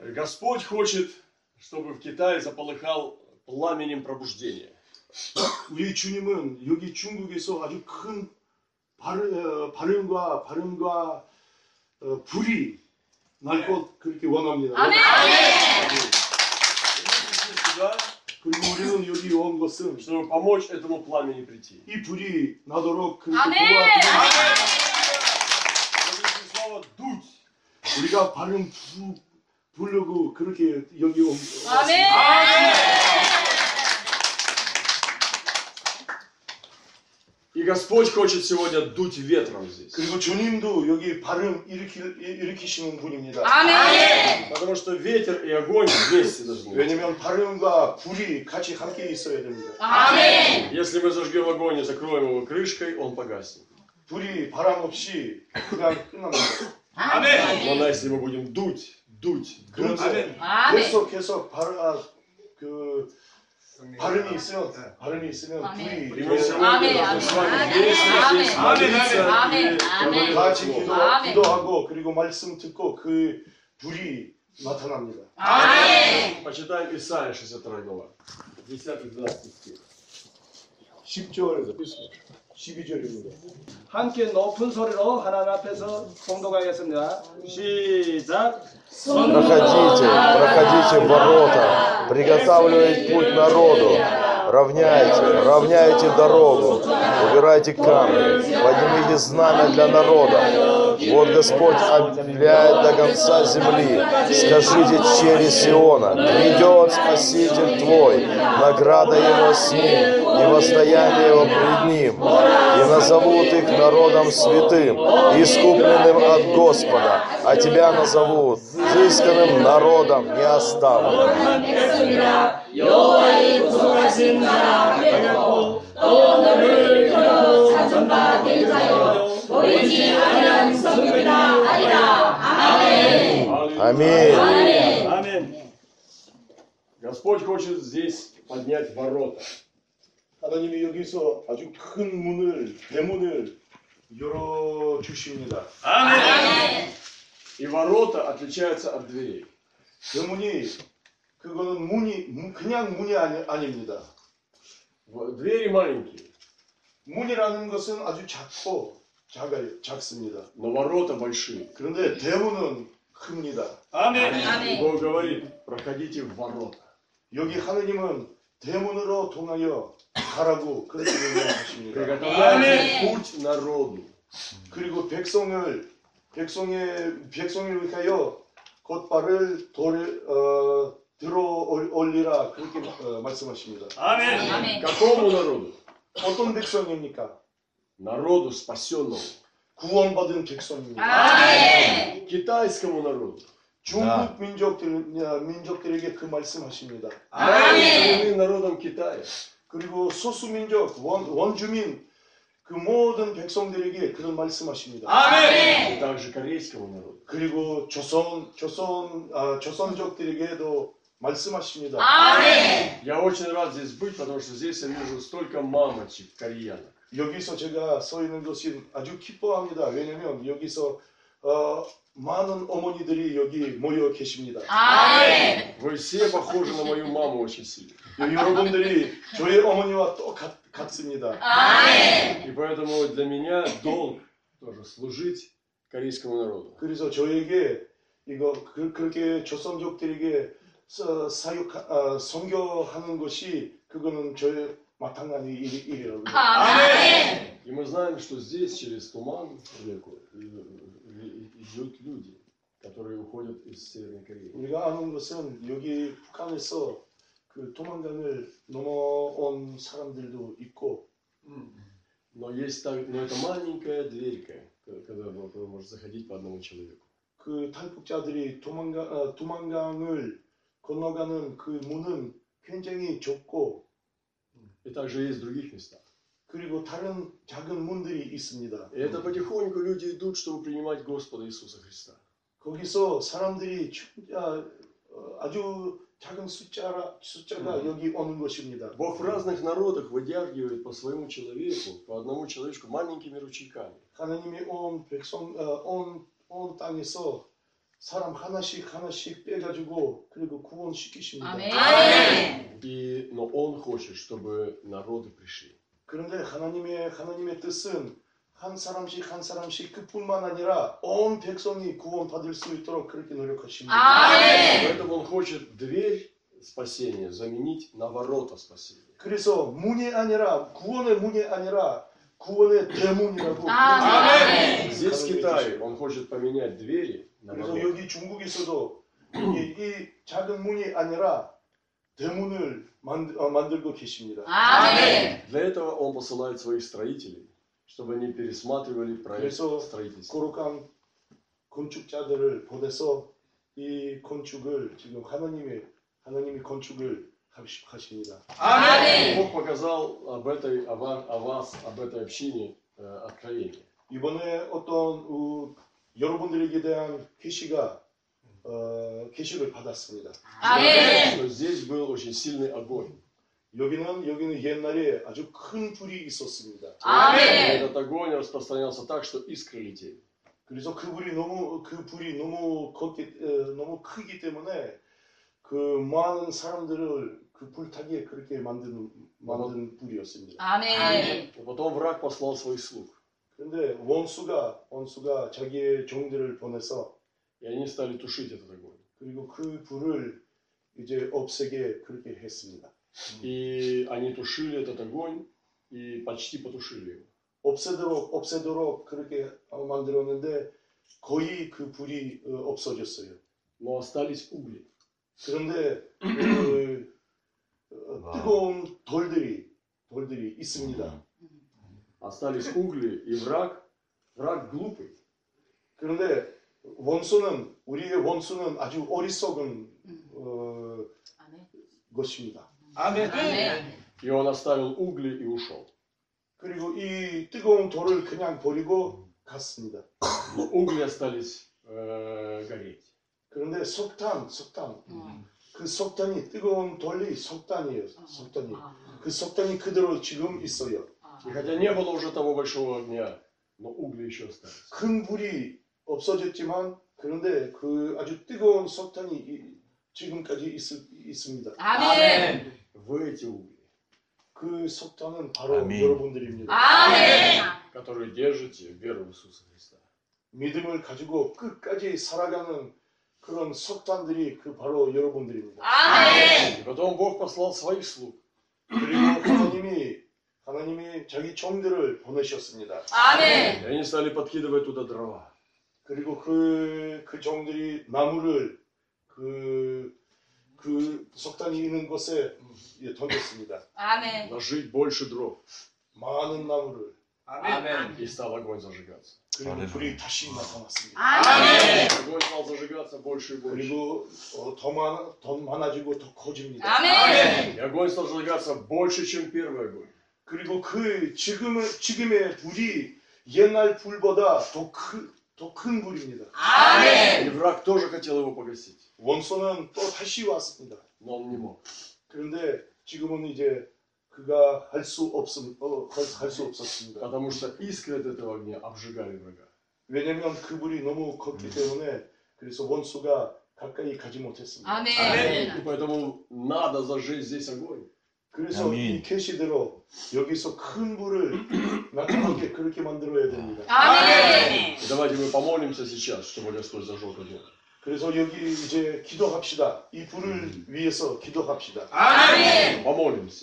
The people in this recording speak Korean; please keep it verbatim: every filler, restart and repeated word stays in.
Господь хочет, чтобы в Китае заполыхал пламенем пробуждения. 우리 주님은 여기 중국에서 아주 큰 발음, 발음과 발음과 어, 불이 날 것 그렇게 원합니다. 아멘. 그리고 우리는 여기 온 것은 чтобы помочь этому пламени прийти. 이 불이 나도록 그렇게 아멘. 도와드립니다. 우리가 발음 부, 부르고 그렇게 여기 온 아멘. И Господь хочет сегодня дуть ветром здесь. 그리고 주님도 여기 발음 일으키, 일으키시는 분입니다. 아멘. Потому что ветер и огонь вместе должны быть. 왜냐면 발음과 불이 같이 함께 있어야 됩니다. 아멘. Если мы зажгем огонь и закроем его крышкой, он погаснет. 불이 바람 없이 그냥 끝납니다. Но на если мы будем дуть, дуть, дуть, 그런데 아멘. 계속 계속 발, 아, 그 발음이 있으면 발음이 있으면 아멘. 불이 и мы сегодня 아멘. должны с вами 아멘. вместе 아멘. здесь молиться 아멘. и 아멘. говорить 같이 Богу. 기도, 아멘. 기도하고 그리고 말씀 듣고 그 불이 나타납니다. 아멘. Почитаем Исайя шестьдесят вторая глава. десятый-двенадцатый стих. 십 절 십이 절입니다. 함께 높은 소리로 하나님 앞에서 공독하겠습니다. 시작. Проходите, проходите в ворота, приготавливайте путь народу, равняйте, равняйте дорогу, убирайте камни, поднимите знамя для народа. Вот Господь объявляет до конца земли. Скажите через Сиона, грядет Спаситель твой, награда его с ним, и восстояние его пред ним. И назовут их народом святым, искупленным от Господа, а тебя назовут взысканным народом не оставленным. Аминь. 아멘. Господь хочет здесь поднять ворота. 하나님이 여기서 아주 큰 문을 대문을 열어 주십니다. И ворота отличаются от дверей. 대문이 그거는 문이 문- 그냥 문이 아니, 아닙니다. В- Двери маленькие, 문이라는 것은 아주 작고 작아요, 작습니다. но ворота большие. 그런데 대문은 큽니다. И Бог говорит, проходите в ворота. 여기 하나님은 대문으로 통하여 가라고 그렇게 명령하십니다. Приготовляйте путь народу. 그리고 백성을 백성의 백성을 위하여 곧발을 돌 어, 들어 올- 올리라 그렇게 어, 말씀하십니다. 아멘. Какому народу? 어떤 백성입니까? Народу спасенному. 구원받은 백성입니다. 아멘. Китайскому народу. 중국 민족들 민족들에게 그 말씀하십니다. Они народом Китая. 그리고 소수 민족 원 원주민 그 모든 백성들에게 그런 말씀하십니다. И также корейскому народу. 그리고 조선 조선 아, 조선족들에게도 말씀하십니다. 아멘. Я очень рад здесь быть, потому что здесь я вижу столько мамочек, кореянок. 여기서 제가 서 있는 것이 아주 기뻐합니다. 왜냐하면 여기서 어, 많은 어머니들이 여기 모여 계십니다. 아멘. Вы все похожи на мою маму очень сильно. 여러분들이 저희 어머니와 똑같, 같습니다. 아멘. И поэтому для меня долг тоже служить корейскому народу. 그래서 저에게 이거 그, 그렇게 조선족들에게 서, 사육 어, 선교하는 것이 그거는 저의 마땅한 일, 일이라고. 아멘. И мы знаем, что здесь через туман реку идут люди, которые уходят из Северной Кореи. 우리가 아는 것은 여기 북한에서 그 도망강을 넘어온 사람들도 있고, Но есть так, но это маленькая дверька, когда вы можете заходить по одному человеку. 그 탈북자들이 도망가 어, 도망강을 건너가는 그 문은 굉장히 좁고, И также есть в других местах. 그리고 다른 작은 문들이 있습니다. И это потихоньку люди идут, чтобы принимать Господа Иисуса Христа. 거기서 사람들이 아, 어, 아주 작은 숫자라, 숫자가 여기 오는 것입니다. Бог в разных народах выдергивает по своему человеку, по одному человечку маленькими ручейками. 하나님이 온 백성, 어, 온, 온 땅에서 사람 하나씩 하나씩 빼가지고 그리고 구원시키십니다. 아멘. И, но Он хочет, чтобы народы пришли. 그런데 하나님의 하나님의 뜻은 한 사람씩 한 사람씩 그뿐만 아니라 온 백성이 구원받을 수 있도록 그렇게 노력하십니다. 아멘. Поэтому Он хочет дверь спасения заменить на ворота спасения. 그래서 문이 아니라 구원의 문이 아니라 구원의 대문이라고. 아멘. Здесь, в Китае, Он хочет поменять двери на 그래서 ворота. 여기 중국에서도 이, 이 작은 문이 아니라 대문을 만, 어, 만들고 계십니다. 아멘. Для этого Он посылает своих строителей, чтобы они пересматривали проект 그래서 строительства. 거룩한 건축자들을 보내서 이 건축을 지금 하나님의 하나님이 건축을 하시- 하십니다. 아멘. Бог показал об этой, о ва- о вас, об этой общине э, откровение. 이번에 어떤 어, 여러분들에게 대한 계시가 어, 계시를 받았습니다. 아멘. Что здесь был очень сильный огонь. 여기는 여기는 옛날에 아주 큰 불이 있었습니다. И 아멘. этот огонь распространялся так, что искры летели. 그래서 그 불이 너무 그 불이 너무 걷기 어, 너무 크기 때문에 그 많은 사람들을 그 불타기에 그렇게 만든 만든 불이었습니다. 아멘. И потом враг послал своих слуг. 그런데 원수가 원수가 자기의 종들을 보내서 И они стали тушить этот огонь. 그리고 그 불을 이제 없애게 그렇게 했습니다. И они тушили этот огонь и почти потушили его. 없애도록 없애도록 그렇게 어, 만들었는데 거의 그 불이 어, 없어졌어요. Но остались угли. 그런데 그, 어, 뜨거운 돌들이 돌들이 있습니다. Остались угли, и враг, враг глупый. 그런데 원수는 우리의 원수는 아주 어리석은 어, 아멘. 것입니다. 아멘. 아멘. И он оставил угли и ушел. 그리고 이 뜨거운 돌을 그냥 버리고 갔습니다. Но угли остались э, гореть. 그런데 석탄, 석탄, 어. 그 석탄이 뜨거운 돌이 석탄이에요. 어. 석탄이. 아. 그 석탄이 그대로 지금 있어요. 아. И хотя не было уже того большого огня, но угли еще остались. 큰 불이 없어졌지만 그런데 그 아주 뜨거운 석탄이 이- 지금까지 있, 있습니다. 아멘. Вы эти угли, 그 석탄은 바로 아멘. 여러분들입니다. 아멘. которые держите веру в Иисуса Христа. 믿음을 가지고 끝까지 살아가는 그런 석탄들이 그 바로 여러분들입니다. 아멘. И потом Бог послал своих слуг. 그리고 하나님이 하나님이 자기 종들을 보내셨습니다. 아멘. И они стали подкидывать туда дрова. 그리고 그, 그 종들이 나무를 그, 그 석탄이 있는 곳에 예, 던졌습니다. 아멘. Ложить больше дров. 많은 나무를. 아멘. И стал огонь зажигаться. 그리고 할렐루야. 불이 다시 나타났습니다. 아멘. Огонь стал зажигаться больше и больше. 그리고 어, 더, 많아, 더 많아지고 더 커집니다. 아멘. И огонь стал зажигаться больше, чем первый огонь. 그리고 그 지금의, 지금의 불이 옛날 불보다 더 큰 더 큰 불입니다. И 아멘. враг тоже хотел его погасить. 원수는 또 다시 왔습니다. Но он не мог. 그런데 지금은 이제 그가 할 수 없음, 어, 할 수 없었습니다. Потому что искры от этого огня обжигали врага. 왜냐면 그 불이 너무 컸기 때문에 그래서 원수가 가까이 가지 못했습니다. 아멘. И поэтому надо зажечь здесь огонь. 그래서 아멘. 이 계시대로 여기서 큰 불을 나타나게 그렇게 만들어야 됩니다. 아멘. И давайте мы помолимся сейчас, чтобы Господь зажег огонь. 그래서 여기 이제 기도합시다. 이 불을 위해서 기도합시다. 아멘. Помолимся.